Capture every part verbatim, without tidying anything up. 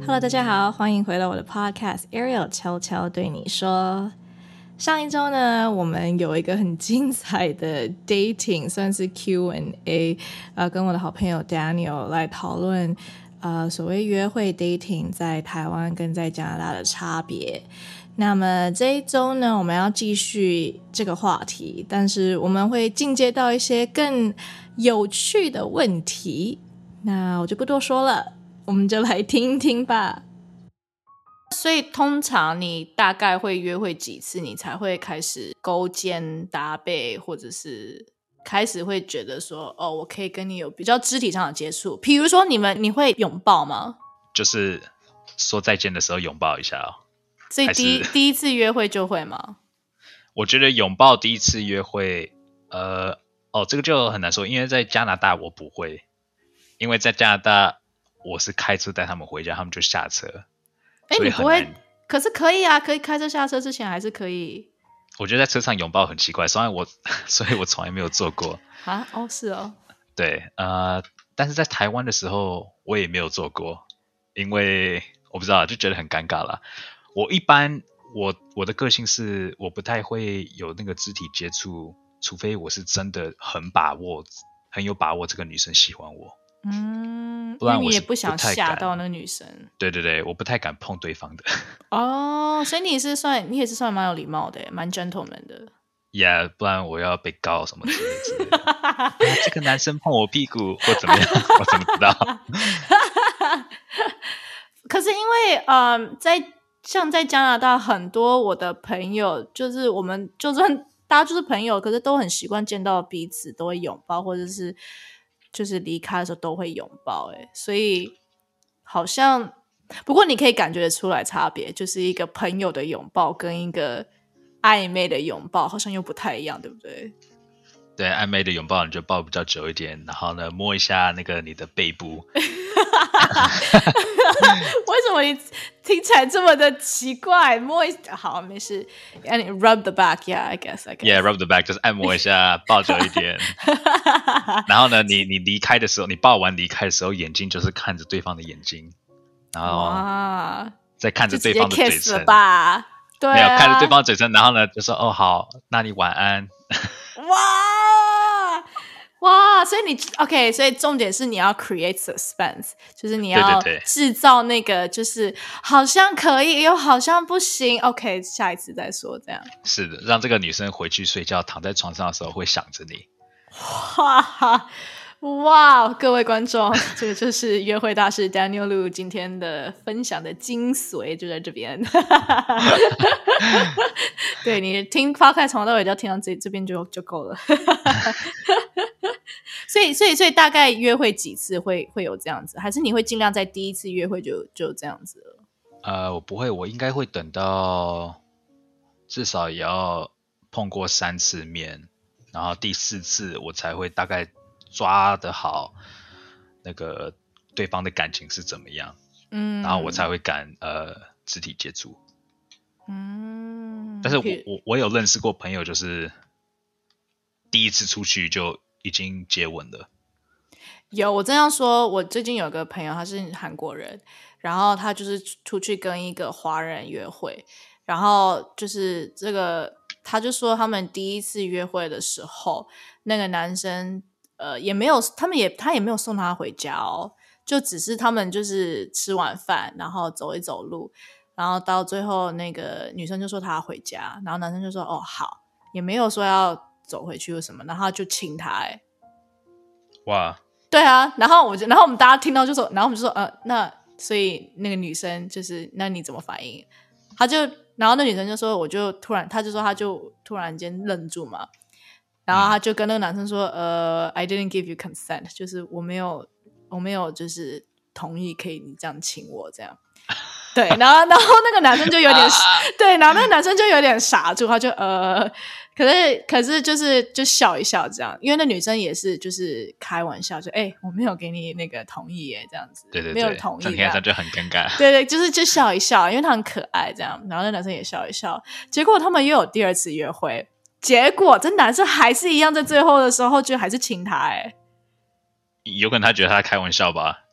Hello， 大家好，欢迎回到我的 Podcast Ariel 悄悄对你说。上一周呢，我们有一个很精彩的 dating， 算是 Q and A， 呃，跟我的好朋友 Daniel 来讨论呃所谓约会 dating 在台湾跟在加拿大的差别。那么这一周呢，我们要继续这个话题，但是我们会进阶到一些更有趣的问题。那我就不多说了，我们就来听听吧。所以通常你大概会约会几次，你才会开始勾肩搭背，或者是开始会觉得说，哦，我可以跟你有比较肢体上的接触？比如说你们，你会拥抱吗？ 就是说再见的时候拥抱一下哦。 所以第一第一次约会就会吗？ 我觉得拥抱第一次约会，呃，哦，这个就很难说，因为在加拿大我不会，因为在加拿大我是开车带他们回家，他们就下车。 哎，你不会？可是可以啊，可以开车下车之前还是可以。 我觉得在车上拥抱很奇怪，所以我所以我从来没有做过啊。哦，是哦。 对，呃，但是在台湾的时候我也没有做过，因为我不知道，就觉得很尴尬啦。我一般我我的个性是我不太会有那个肢体接触，除非我是真的很把握很有把握这个女生喜欢我。 嗯， 不然我因为你也不想吓到那个女生。 对对对，我不太敢碰对方的。 哦，所以你是算你也是算蛮有礼貌的，蛮 gentleman 的。 Yeah， 不然我要被告什么之类之类的。啊，这个男生碰我屁股或怎么样，我怎么知道？ 可是因为嗯，在像在加拿大，很多我的朋友就是我们就算大家就是朋友，可是都很习惯见到彼此都会拥抱，或者是就是离开的时候都会拥抱。哎，所以好像不过你可以感觉得出来差别，就是一个朋友的拥抱跟一个暧昧的拥抱好像又不太一样，对不对？ 对，暧昧的拥抱你就抱比较久一点，然后呢摸一下那个你的背部。 为什么你听起来这么的奇怪？摸一好没事 ，and rub the back, yeah, I guess, I guess. Yeah, rub the back 就是按摩一下，抱久一点。然后呢，你你离开的时候，你抱完离开的时候，眼睛就是看着对方的眼睛，然后再看着对方的嘴唇， 就直接 kiss 了吧？对、啊， 没有看着对方的嘴唇，然后呢就说哦好，那你晚安。 哇哇，所以你 OK， 所以重点是你要 create suspense， 就是你要制造那个就是好像可以又好像不行 OK， 下一次再说这样。 是的，让这个女生回去睡觉躺在床上的时候会想着你。 哇哇，各位观众，这个就是约会大师 Daniel Lu 今天的分享的精髓就在这边。对，你听 podcast 从头到尾就要听到这这边就就够了。所以所以所以大概约会几次会会有这样子，还是你会尽量在第一次约会就就这样子了？ 呃，我不会，我应该会等到至少也要碰过三次面，然后第四次我才会大概抓得好那个对方的感情是怎么样，嗯，然后我才会敢呃肢体接触。嗯，但是我我我有认识过朋友，就是第一次出去就已经接吻了。 有，我这样说，我最近有个朋友，他是韩国人，然后他就是出去跟一个华人约会，然后就是这个，他就说他们第一次约会的时候，那个男生呃也没有，他们也他也没有送他回家哦，就只是他们就是吃完饭，然后走一走路，然后到最后那个女生就说她要回家，然后男生就说哦好，也没有说要走回去或什么，然后就亲他。哎， 哇， 对啊，然后我就，然后我们大家听到就说，然后我们就说呃那所以那个女生就是那你怎么反应？他就然后那女生就说我就突然他就说他就突然间愣住嘛，然后他就跟那个男生说呃 I didn't give you consent， 就是我没有我没有就是同意可以你这样亲我这样。对，然后然后那个男生就有点对，然后那个男生就有点傻住，他就呃可是可是就是就笑一笑这样，因为那女生也是就是开玩笑，就哎、欸、我没有给你那个同意耶这样子， 对对对， 没有同意， 这样他就很尴尬。 对对，就是就笑一笑，因为他很可爱这样，然后那男生也笑一笑，结果他们又有第二次约会，结果这男生还是一样，在最后的时候就还是亲他。哎， 有可能他觉得他开玩笑吧。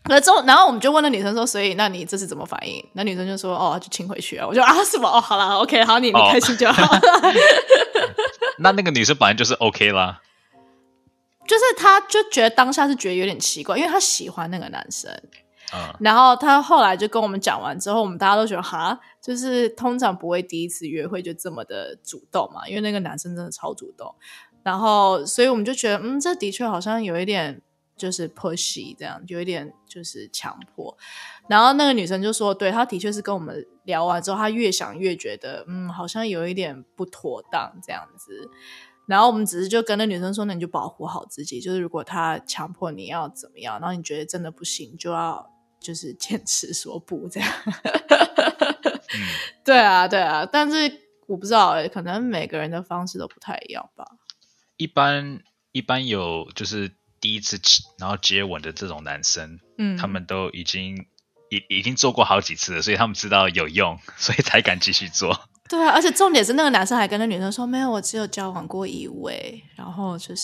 可之后，然后我们就问那女生说，所以那你这是怎么反应？那女生就说，哦，就亲回去啊。我就啊，什么？哦，好啦 OK， 好，你你开心就好。哦、 那那个女生本来就是 OK 啦， 就是她就觉得当下是觉得有点奇怪，因为她喜欢那个男生。 嗯， 然后她后来就跟我们讲完之后，我们大家都觉得哈，就是通常不会第一次约会就这么的主动嘛，因为那个男生真的超主动。然后，所以我们就觉得，嗯，这的确好像有一点。就是 pushy 这样，有一点就是强迫。然后那个女生就说，对，她的确是跟我们聊完之后，她越想越觉得，嗯，好像有一点不妥当这样子。然后我们只是就跟那女生说，那你就保护好自己，就是如果她强迫你要怎么样，然后你觉得真的不行，就要就是坚持说不这样。嗯、对啊，对啊，但是我不知道、欸，可能每个人的方式都不太一样吧。 一般一般有就是。第一次然后接吻的这种男生，嗯，他们都已经已已经做过好几次了，所以他们知道有用，所以才敢继续做。 对啊，而且重点是那个男生还跟那女生说，没有，我只有交往过一位，然后就是，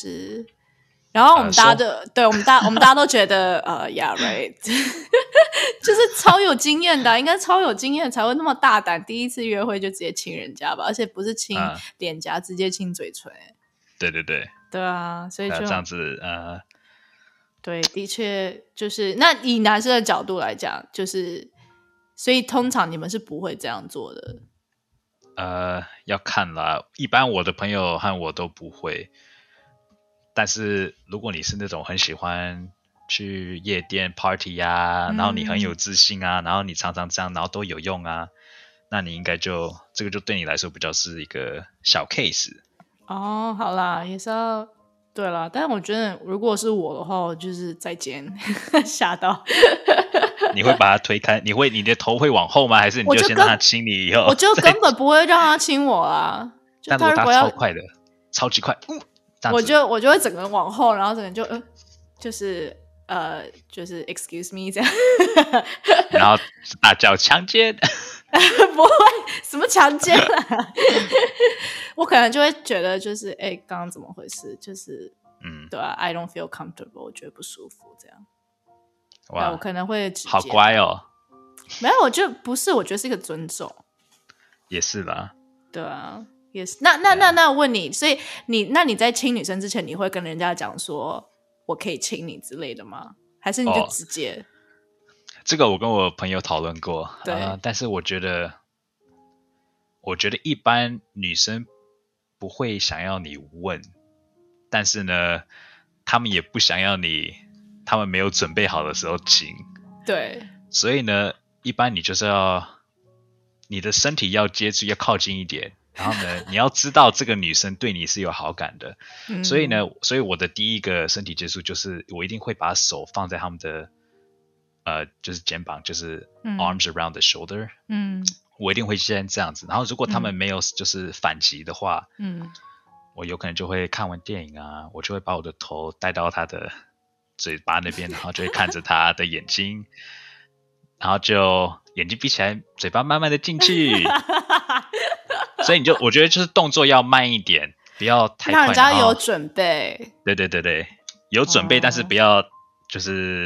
然后我们大家都、呃、对我们大我们大家都觉得呃 yeah right 就是超有经验的，应该超有经验才会那么大胆，第一次约会就直接亲人家吧，而且不是亲脸颊、呃，直接亲嘴唇。 对对对。 对啊，所以就、呃、 这样子呃， 对，的确就是那以男生的角度来讲，就是所以通常你们是不会这样做的。 呃，要看啦，一般我的朋友和我都不会。但是如果你是那种很喜欢去夜店 party 啊、嗯，然后你很有自信啊，然后你常常这样，然后都有用啊，那你应该就这个就对你来说比较是一个小 case。 哦，好啦，也是要对啦，但我觉得如果是我的话，我就是再见，吓到。 你会把他推开？你会你的头会往后吗？还是你就先让他亲你以后？ 我就根本不会让他亲我啊！ 但如果他超快的，超级快，嗯， 我就我就会整个人往后，然后整个人就呃，就是呃，就是 excuse me 这样， 然后大叫强奸。 不会什么强奸啊我可能就会觉得就是哎，刚刚怎么回事？就是嗯，对啊 I don't feel comfortable， 我觉得不舒服这样。哇，我可能会直接好乖哦。 没有，我就不是，我觉得是一个尊重。 也是啦。 对啊，也是。那那那那我问你，所以你那你在亲女生之前，你会跟人家讲说我可以亲你之类的吗？还是你就直接？哦， 这个我跟我朋友讨论过， 对、呃， 但是我觉得，我觉得一般女生不会想要你问，但是呢，他们也不想要你，他们没有准备好的时候亲。 对，所以呢，一般你就是要你的身体要接触，要靠近一点，然后呢，你要知道这个女生对你是有好感的，嗯、所以呢，所以我的第一个身体接触就是我一定会把手放在他们的。呃，就是肩膀，就是 arms around the shoulder， 嗯，我一定会先这样子。然后如果他们没有就是反击的话，嗯，我有可能就会看完电影啊，我就会把我的头带到他的嘴巴那边，然后就会看着他的眼睛，然后就眼睛闭起来，嘴巴慢慢的进去。所以你就我觉得就是动作要慢一点，不要太快， 让人家有准备。 对对对对，有准备，哦、但是不要就是。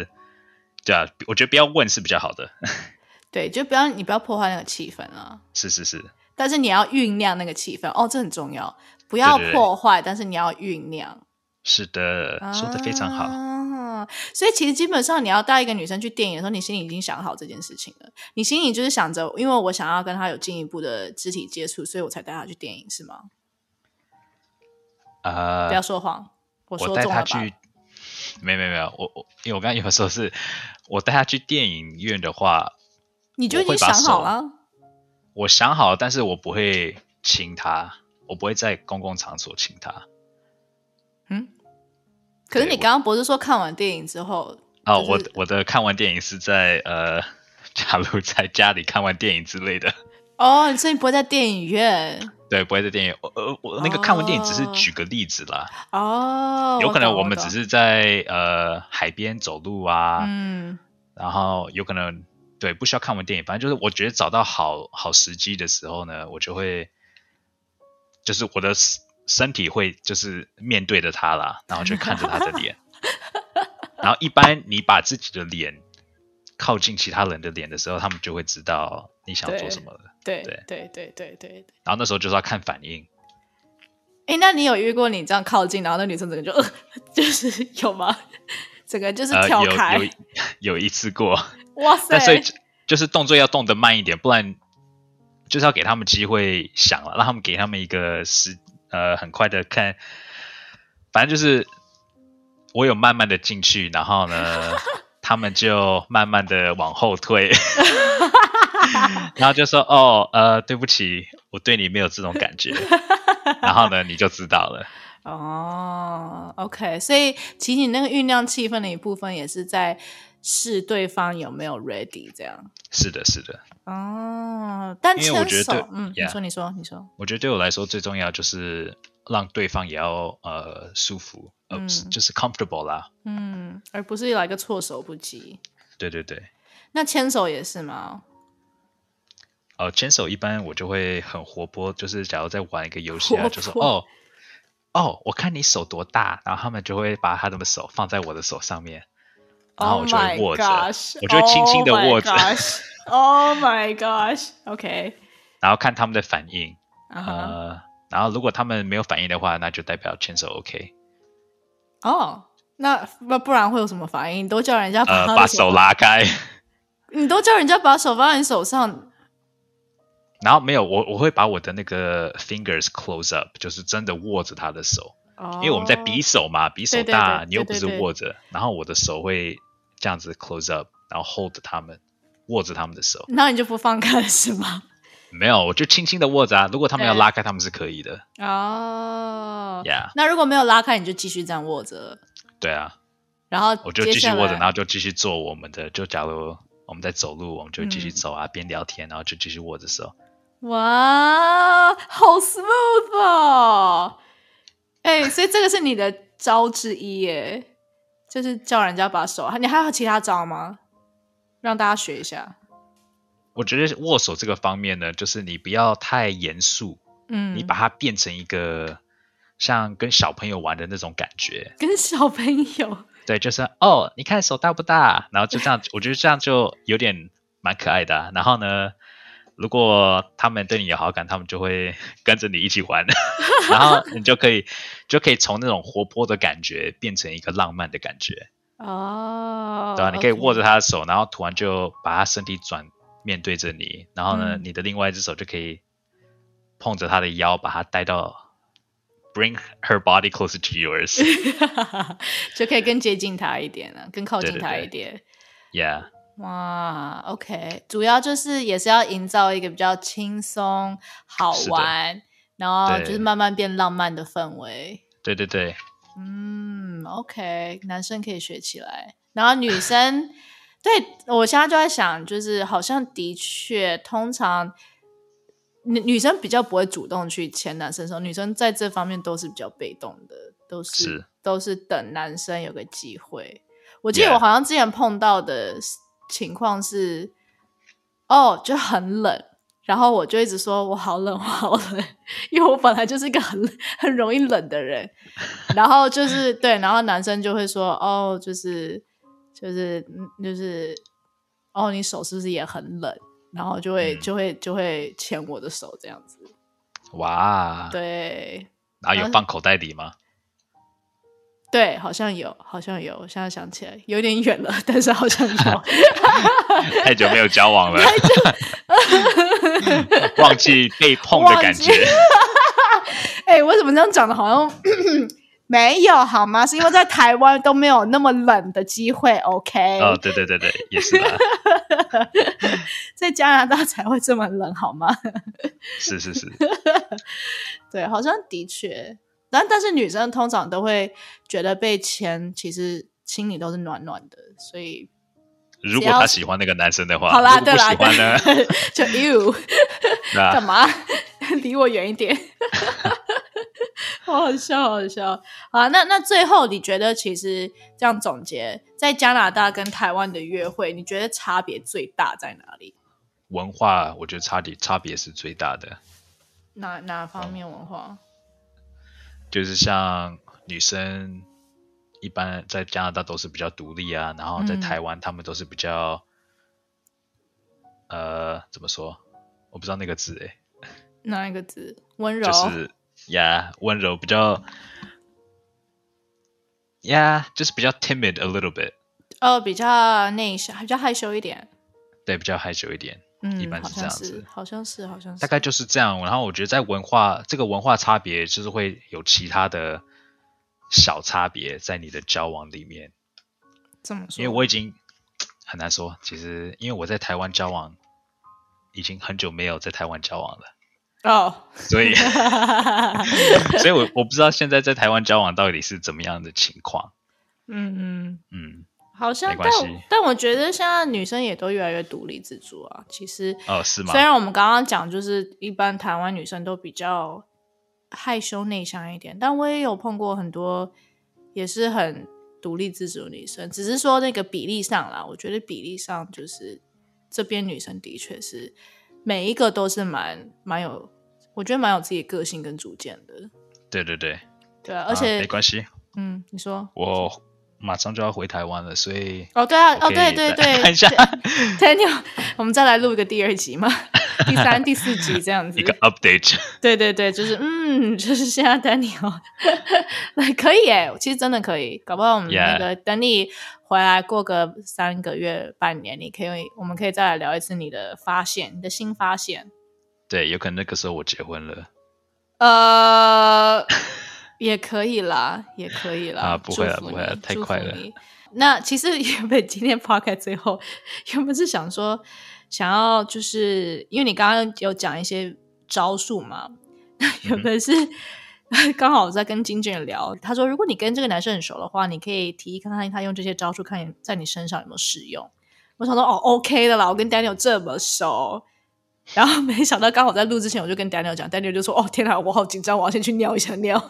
对啊，我觉得不要问是比较好的。 对，就不要你不要破坏那个气氛啊。 是是是。 但是你要酝酿那个气氛哦，这很重要。不要破坏，对对对，但是你要酝酿。 是的，说得非常好。 啊，所以其实基本上你要带一个女生去电影的时候，你心里已经想好这件事情了。你心里就是想着，因为我想要跟她有进一步的肢体接触，所以我才带她去电影，是吗？ 呃， 不要说谎，我说中了吧。 我带她去。没没没有，我我因为我刚刚有说是我带他去电影院的话， 你就已经想好了。 我想好了，但是我不会亲他，我不会在公共场所亲他。 嗯，可是你刚刚不是说看完电影之后？ 哦，我我的看完电影是在呃，假如在家里看完电影之类的。 哦，所以你不会在电影院？ 对，不会在电影。呃，我那个看完电影只是举个例子啦。 哦， 有可能我们只是在呃海边走路啊，嗯，然后有可能对不需要看完电影，反正就是我觉得找到好好时机的时候呢，我就会就是我的身体会就是面对着他啦，然后就看着他的脸，然后一般你把自己的脸靠近其他人的脸的时候，他们就会知道你想做什么了。 对对对对对对。 然后那时候就是要看反应。 哎，那你有遇过你这样靠近，然后那女生整个就、呃、就是有吗？整个就是跳开。 呃、有有有一次过。 哇塞！ 但所以就是动作要动得慢一点，不然就是要给他们机会想了，让他们给他们一个时呃很快的看。反正就是我有慢慢的进去，然后呢，他们就慢慢的往后退。然后就说哦呃对不起，我对你没有这种感觉。然后呢你就知道了。 哦 OK， 所以其实你那个酝酿气氛的一部分也是在试对方有没有 ready 这样。 是的是的。 哦，但牵手， 因为我觉得嗯， yeah, 你说你说你说， 我觉得对我来说最重要就是让对方也要呃舒服，呃、嗯、就是 comfortable 啦。 嗯，而不是来个措手不及。 对对对。 那牵手也是吗？ 呃，牵手一般我就会很活泼，就是假如在玩一个游戏啊，就说哦哦，我看你手多大，然后他们就会把他们的手放在我的手上面，然后我就会握着， oh、 我就会轻轻的握着。 Oh my gosh，OK， 然后看他们的反应， uh-huh. 呃，然后如果他们没有反应的话，那就代表牵手 OK。 哦、oh, ，那那不然会有什么反应？你都叫人家把他的手、 呃、把手拉开。 你都叫人家把手放在你手上。 然后没有，我我会把我的那个 fingers close up， 就是真的握着他的手。 Oh, 因为我们在比手嘛，比手大， 对对对对对对， 你又不是握着，然后我的手会这样子 close up， 然后 hold 他们，握着他们的手。 那你就不放开是吗？ 没有，我就轻轻的握着啊。如果他们要拉开，他们是可以的。 哦、 oh, yeah. 那如果没有拉开，你就继续这样握着。 对啊。 然后我就继续握着，然后就继续做我们的。就假如我们在走路，我们就继续走啊，边、嗯、聊天，然后就继续握着手。 哇，好 smooth 哦！哎、欸，所以这个是你的招之一耶，就是叫人家把手。你还有其他招吗？让大家学一下。 我觉得握手这个方面呢，就是你不要太严肃，嗯，你把它变成一个像跟小朋友玩的那种感觉。 跟小朋友？ 对，就是哦，你看手大不大？然后就这样，我觉得这样就有点蛮可爱的、啊。然后呢，如果他们对你有好感，他们就会跟着你一起玩。然后你就可以就可以从那种活泼的感觉变成一个浪漫的感觉。 哦， 对啊，你可以握着他的手，然后突然就把他身体转面对着你，然后呢、嗯、你的另外一只手就可以碰着他的腰，把他带到 bring her body closer to yours。 就可以更接近他一点了，更靠近他一点。 对对对 yeah。 哇 OK， 主要就是也是要营造一个比较轻松好玩，然后就是慢慢变浪漫的氛围。 对对对。 嗯 OK， 男生可以学起来，然后女生对，我现在就在想，就是好像的确通常女女生比较不会主动去牵男生手，女生在这方面都是比较被动的，都 是, 是都是等男生有个机会。我记得我好像之前碰到的情况是、yeah. 哦就很冷，然后我就一直说我好冷我好冷，因为我本来就是一个很很容易冷的人。然后就是对，然后男生就会说哦就是就是就是哦你手是不是也很冷，然后就会、嗯、就会就会牵我的手这样子。 哇， 对。 然后有放口袋里吗？ 对，好像有好像有，我现在想起来有点远了，但是好像有。 太久没有交往了。忘记被碰的感觉。 哎、欸，为什么这样讲的好像没有好吗？是因为在台湾都没有那么冷的机会 OK。 哦对对对对，也是啦。 在加拿大才会这么冷好吗？ 是是是。 对，好像的确，但但是女生通常都会觉得被牵其实心里都是暖暖的，所以如果他喜欢那个男生的话， 好啦， 如果不喜欢呢就 you 干嘛离我远一点。好好笑好好笑。好，那那最后你觉得其实这样总结，在加拿大跟台湾的约会你觉得差别最大在哪里？ 文化我觉得差别差别是最大的。 哪哪方面文化？ 嗯，就是像女生一般在加拿大都是比较独立啊，然后在台湾他们都是比较呃，怎么说？我不知道那个字诶。 哪一个字？温柔。 就是呀，温柔比较呀，就是比较 timid a little bit。 哦，比较内向，比较害羞一点。 对，比较害羞一点。 嗯， 一般是这样子。 好像是，好像是， 大概就是这样。然后我觉得在文化这个文化差别，就是会有其他的小差别在你的交往里面。 这么说？ 因为我已经很难说，其实因为我在台湾交往，已经很久没有在台湾交往了。 哦、oh. 所以所以我我不知道现在在台湾交往到底是怎么样的情况。 嗯嗯嗯， 好像没关系。 但但我觉得现在女生也都越来越独立自主啊。其实哦，是吗？ 虽然我们刚刚讲就是一般台湾女生都比较害羞内向一点，但我也有碰过很多也是很独立自主的女生，只是说那个比例上啦，我觉得比例上就是这边女生的确是每一个都是蛮蛮有，我觉得蛮有自己的个性跟主见的。 对对对， 对啊，而且、 啊、没关系。 嗯，你说我马上就要回台湾了，所以哦对啊，哦对对对， 看一下 Daniel， 我们再来录一个第二集嘛，第三、第四集这样子， 一个 update。 对对对，就是嗯，就是现在 Daniel 可以耶，其实真的可以，搞不好我们那个、yeah. 等你回来过个三个月、半年，你可以，我们可以再来聊一次你的发现，你的新发现。 对，有可能那个时候我结婚了。 呃，也可以啦，也可以啦。 啊，不会了，不会了，太快了。 那其实原本今天 podcast 最后原本是想说，想要就是因为你刚刚有讲一些招数嘛，原本是刚好我在跟经纪人聊，他说如果你跟这个男生很熟的话，你可以提议看看他用这些招数，看在你身上有没有适用。我想说哦 OK 的啦，我跟 Daniel 这么熟。然后没想到刚好在录之前我就跟 Daniel 讲， Daniel 就说哦天哪我好紧张，我要先去尿一下尿。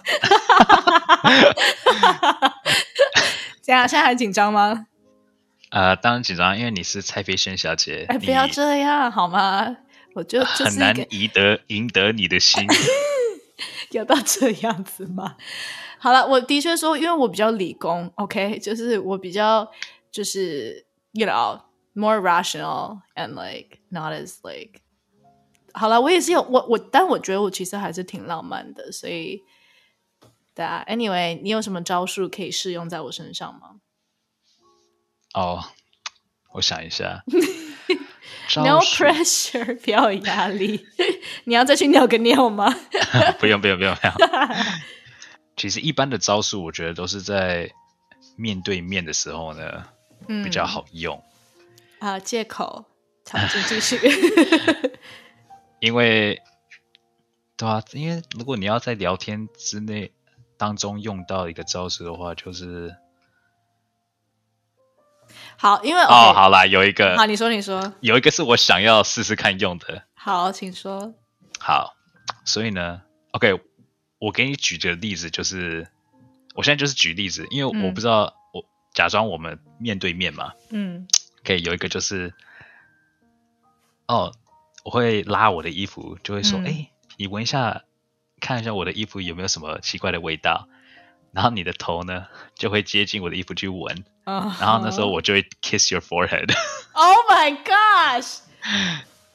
这样现在还紧张吗？ 呃，当然紧张，因为你是蔡飞轩小姐。 哎，不要这样好吗？我就就是很难赢得赢得你的心。 有到这样子吗？好了，我的确说因为我比较理工 OK， 就是我比较就是 you know more rational and like not as like 好了，我也是有我我，但我觉得我其实还是挺浪漫的，所以对啊。Anyway， 你有什么招数可以适用在我身上吗？ 哦，我想一下。 No pressure， 不要有压力。你要再去尿个尿吗？ 不用不用不用不用。其实一般的招数，我觉得都是在面对面的时候呢，嗯、比较好用。 啊，借口，场景继续。 因为，对啊，因为如果你要在聊天之内当中用到一个招式的话，就是好，因为哦， okay, 好啦，有一个， 好，你说，你说， 有一个是我想要试试看用的。 好，请说。 好，所以呢 ，OK， 我给你举个例子，就是我现在就是举例子，因为我不知道，嗯、我假装我们面对面嘛，嗯，可以有一个就是，哦。我会拉我的衣服，就会说：“哎、嗯欸，你闻一下，看一下我的衣服有没有什么奇怪的味道。”然后你的头呢，就会接近我的衣服去闻。Uh-huh. 然后那时候我就会 kiss your forehead。 Oh my gosh！ 嗯、um, ，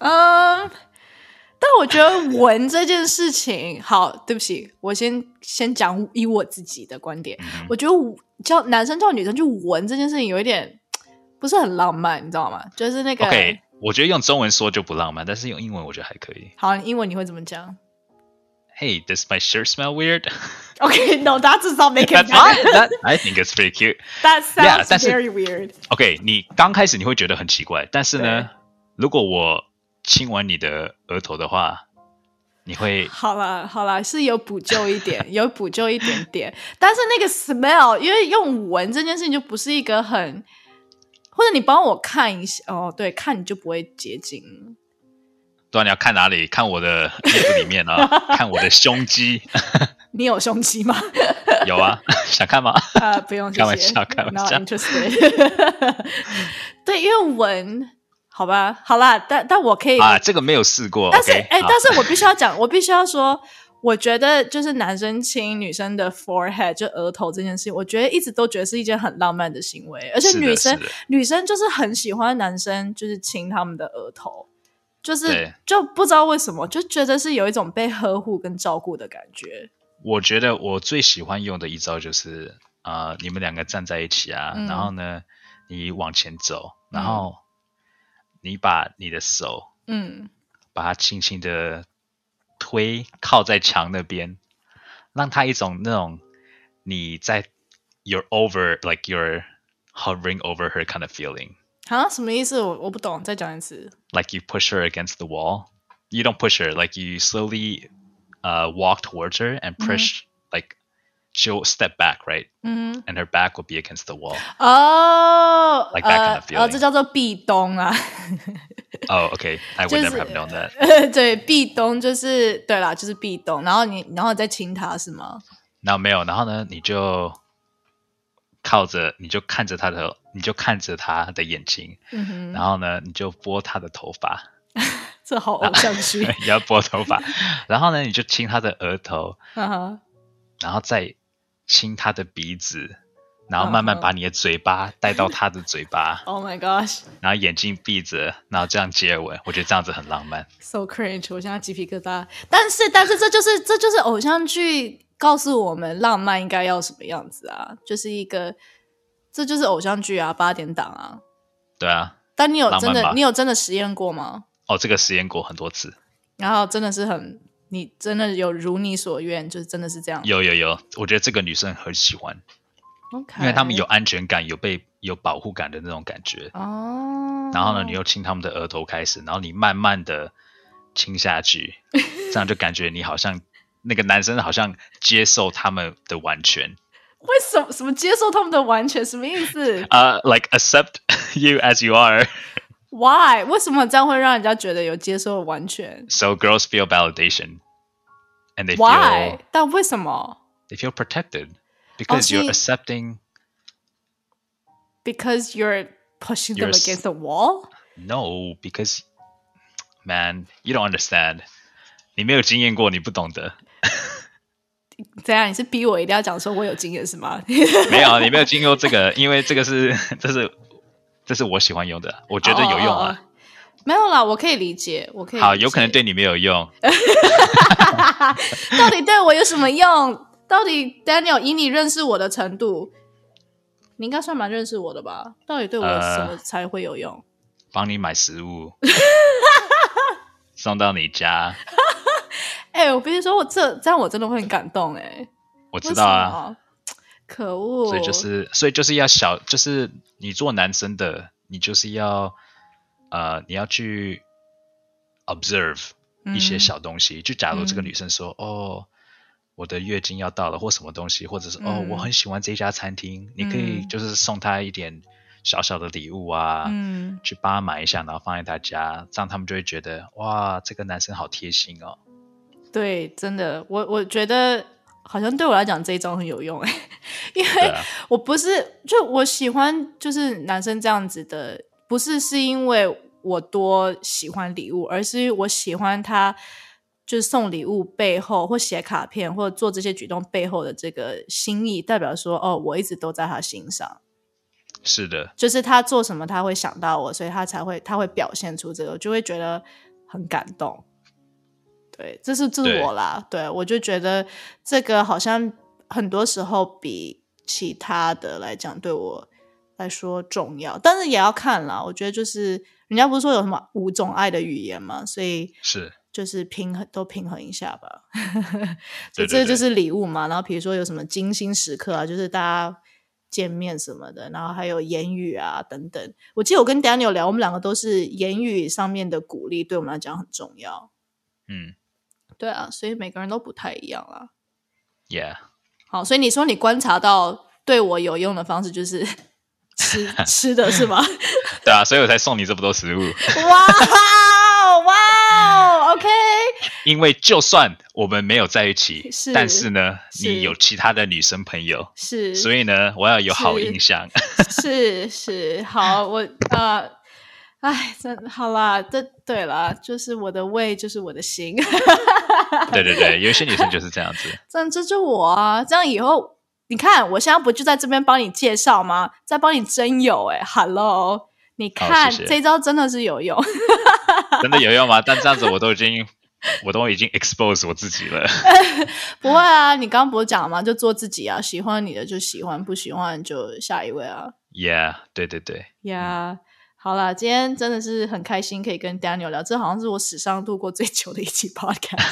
但我觉得闻这件事情，好，对不起，我先先讲以我自己的观点，嗯、我觉得叫男生叫女生去闻这件事情有一点不是很浪漫，你知道吗？就是那个。 Okay.我觉得用中文说就不浪漫，但是用英文我觉得还可以。 好，英文你会怎么讲 ？Hey, does my shirt smell weird? Okay, no, that does not make it better. That, I think it's pretty cute. That sounds yeah, very weird. Okay, 你刚开始你会觉得很奇怪，但是呢，如果我亲完你的额头的话，你会好啦好啦，是有补救一点，有补救一点点，但是那个 smell， 因为用闻这件事情就不是一个很。或者你帮我看一下哦，对，看你就不会接近。 对啊，你要看哪里？看我的衣服里面啊，看我的胸肌。 你有胸肌吗？ 有啊，想看吗？ 啊、呃，不用， 开玩笑，开玩笑。 Not interested 对，因为闻，好吧，好啦，但但我可以啊，这个没有试过。 但是，哎、 okay, 但是我必须要讲，我必须要说。我觉得就是男生亲女生的 forehead 就额头这件事情，我觉得一直都觉得是一件很浪漫的行为，而且女生女生就是很喜欢男生就是亲他们的额头， 就是就不知道为什么就觉得是有一种被呵护跟照顾的感觉。 我觉得我最喜欢用的一招就是呃，你们两个站在一起啊、嗯、然后呢你往前走，然后你把你的手嗯，把它轻轻的推靠在墙那边，让它一种那种你在 you're over like you're hovering over her kind of feeling。 啊，什么意思？我我不懂，再讲一次。 Like you push her against the wall. You don't push her. Like you slowly uh, walk towards her and push. Mm-hmm. Like she'll step back, right? Mm-hmm. And her back will be against the wall. Oh, like that kind of feeling. 哦，这叫做壁咚啊。 Oh, okay. I would、就是、never have known that. 对，壁咚就是对啦，就是壁咚。然后你，然后你再亲他是吗？ 然后没有，然后呢，你就靠着，你就看着他的，你就看着他的眼睛，嗯哼，然后呢，你就拨他的头发。 这好偶像剧。 你要拨头发，然后呢，你就亲他的额头， uh-huh. 然后再亲他的鼻子，然后慢慢把你的嘴巴带到他的嘴巴。 Oh my gosh！ 然后眼睛闭着，然后这样接吻，我觉得这样子很浪漫。 So cringe！ 我现在鸡皮疙瘩。但是，但是这就是这就是偶像剧告诉我们浪漫应该要什么样子啊？就是一个，这就是偶像剧啊，八点档啊。 对啊。 但你有真的，你有真的实验过吗？ 哦，这个实验过很多次。 然后真的是很，你真的有如你所愿，就是真的是这样。 有有有，我觉得这个女生很喜欢。 Okay. 因为他们有安全感，有被有保护感的那种感觉。哦。然后呢，你又亲他们的额头开始，然后你慢慢的亲下去，这样就感觉你好像那个男生好像接受他们的完全。 为什么什么接受他们的完全？什么意思？ 呃、uh, ，like accept you as you are. Why？ 为什么这样会让人家觉得有接受完全 ？So girls feel validation, and they Why? feel. 但为什么 ？They feel protected because、oh, you're accepting. Because you're pushing them against the wall? No, because, man, you don't understand. 你没有经验过，你不懂得。 怎样？你是逼我一定要讲说我有经验是吗？ 没有，你没有经过这个，因为这个是，这是，这是我喜欢用的，我觉得有用啊。Oh, oh, oh. 没有啦，我可以理解，我可以理解。 好，有可能对你没有用。 到底对我有什么用？到底 Daniel 以你认识我的程度，你应该算蛮认识我的吧？到底对我什么才会有用？ 帮、呃、你买食物，送到你家。 哎、欸，我必须说，我这这样我真的会很感动哎、欸。 我知道啊， 可恶！ 所以就是，所以就是要小，就是你做男生的，你就是要呃，你要去 observe 一些小东西。嗯、就假如这个女生说、嗯、哦，我的月经要到了，或什么东西，或者是、嗯、哦，我很喜欢这家餐厅，你可以就是送她一点小小的礼物啊，嗯，去帮她买一下，然后放在她家，这样他们就会觉得哇，这个男生好贴心哦。 对，真的，我我觉得好像对我来讲这一招很有用，因为我不是就我喜欢就是男生这样子的，不是是因为我多喜欢礼物，而是我喜欢他就是送礼物背后或写卡片或者做这些举动背后的这个心意，代表说哦，我一直都在他心上。 是的， 就是他做什么他会想到我，所以他才会他会表现出这个，我就会觉得很感动。对，这是这是我啦， 对, 对我就觉得这个好像很多时候比其他的来讲对我来说重要，但是也要看啦，我觉得就是人家不是说有什么五种爱的语言嘛，所以是就是平衡都平衡一下吧。所以这就是礼物嘛，然后比如说有什么精心时刻啊，就是大家见面什么的，然后还有言语啊等等。我记得我跟 Daniel 聊，我们两个都是言语上面的鼓励对我们来讲很重要。嗯，对啊，所以每个人都不太一样啦。 Yeah。 好，所以你说你观察到对我有用的方式就是吃吃的是吗？ 对啊，所以我才送你这么多食物。 哇哇 ，OK。 因为就算我们没有在一起，是但是呢，是你有其他的女生朋友， 是， 所以呢，我要有好印象。 是是，好，我呃。哎，真好啦，这对啦，就是我的胃就是我的心。 对对对，有一些女生就是这样子。 这样这就我啊，这样以后你看，我现在不就在这边帮你介绍吗？在帮你征友哎 ，Hello， 你看、 哦、谢谢这招真的是有用。 真的有用吗？但这样子我都已经我都已经 expose 我自己了。 不会啊，你刚刚不是讲了吗？就做自己啊，喜欢你的就喜欢，不喜欢就下一位啊。 Yeah， 对对对。 Yeah，、嗯、好啦，今天真的是很开心可以跟 Daniel 聊，这好像是我史上录过最久的一期 podcast。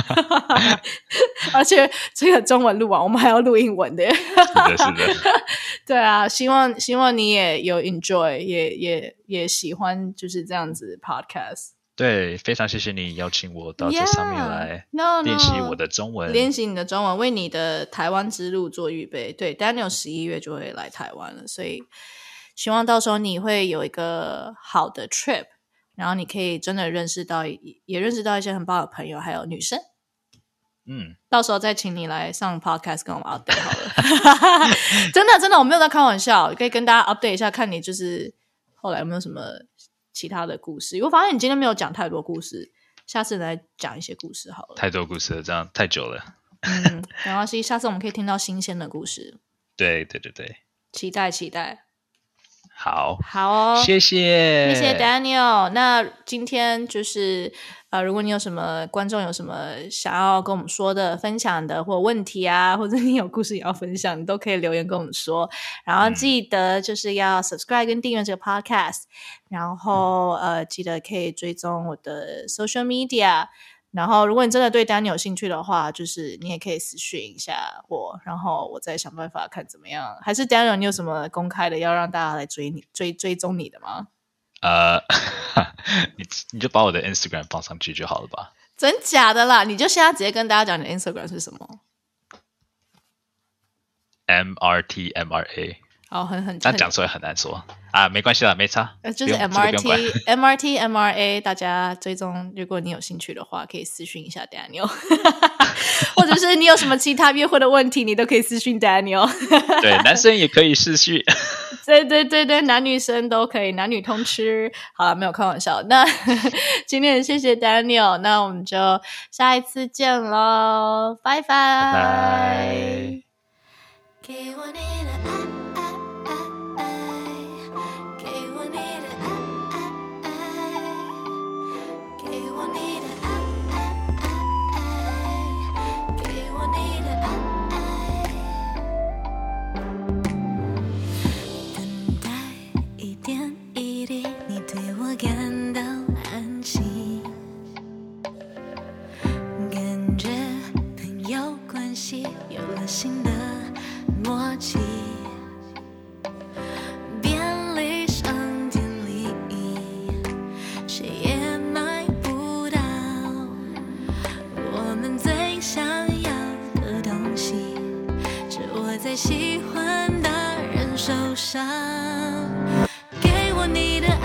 而且这个中文录完，我们还要录英文的。 是的，是的。 对啊，希望希望你也有 enjoy， 也也也喜欢就是这样子 podcast。 对，非常谢谢你邀请我到这上面来练习我的中文， yeah, no, no, 练习你的中文，为你的台湾之路做预备。对 ，Daniel 十一月就会来台湾了，所以希望到时候你会有一个好的 trip， 然后你可以真的认识到，也认识到一些很棒的朋友，还有女生。 嗯， 到时候再请你来上 podcast 跟我们 update 好了。真的真的，我没有在开玩笑，可以跟大家 update 一下，看你就是后来有没有什么其他的故事。我发现你今天没有讲太多故事，下次来讲一些故事好了。 太多故事了，这样太久了。 嗯，没关系，下次我们可以听到新鲜的故事。 对对对对， 期待期待。 好， 好哦， 谢谢， 谢谢 Daniel。那今天就是呃，如果你有什么观众有什么想要跟我们说的、分享的或问题啊，或者你有故事也要分享，你都可以留言跟我们说。然后记得就是要 subscribe 跟订阅这个 podcast，、嗯、然后呃，记得可以追踪我的 social media。然后如果你真的对 Daniel 有兴趣的话，就是你也可以私讯一下我，然后我再想办法看怎么样。还是 Daniel 你有什么公开的要让大家来追你追追踪你的吗？ 呃，你你就把我的 Instagram 放上去就好了吧？ 真假的啦？你就现在直接跟大家讲你的 Instagram 是什么 ？M R T M R A。 哦，很很， 但讲出来很难说啊，没关系啦，没差， 呃，就是 M R T、這個、M R T M R A， 大家追踪，如果你有兴趣的话，可以私讯一下 Daniel， 或者是你有什么其他约会的问题，你都可以私讯 Daniel。 对，男生也可以私讯。 对对对对，男女生都可以，男女通吃。好了，没有开玩笑。那今天谢谢 Daniel， 那我们就下一次见咯，拜拜。 拜拜。 给我你的爱。感到安心，感觉朋友关系有了新的默契，便利商店里谁也买不到我们最想要的东西，是握在喜欢的人手上。给我你的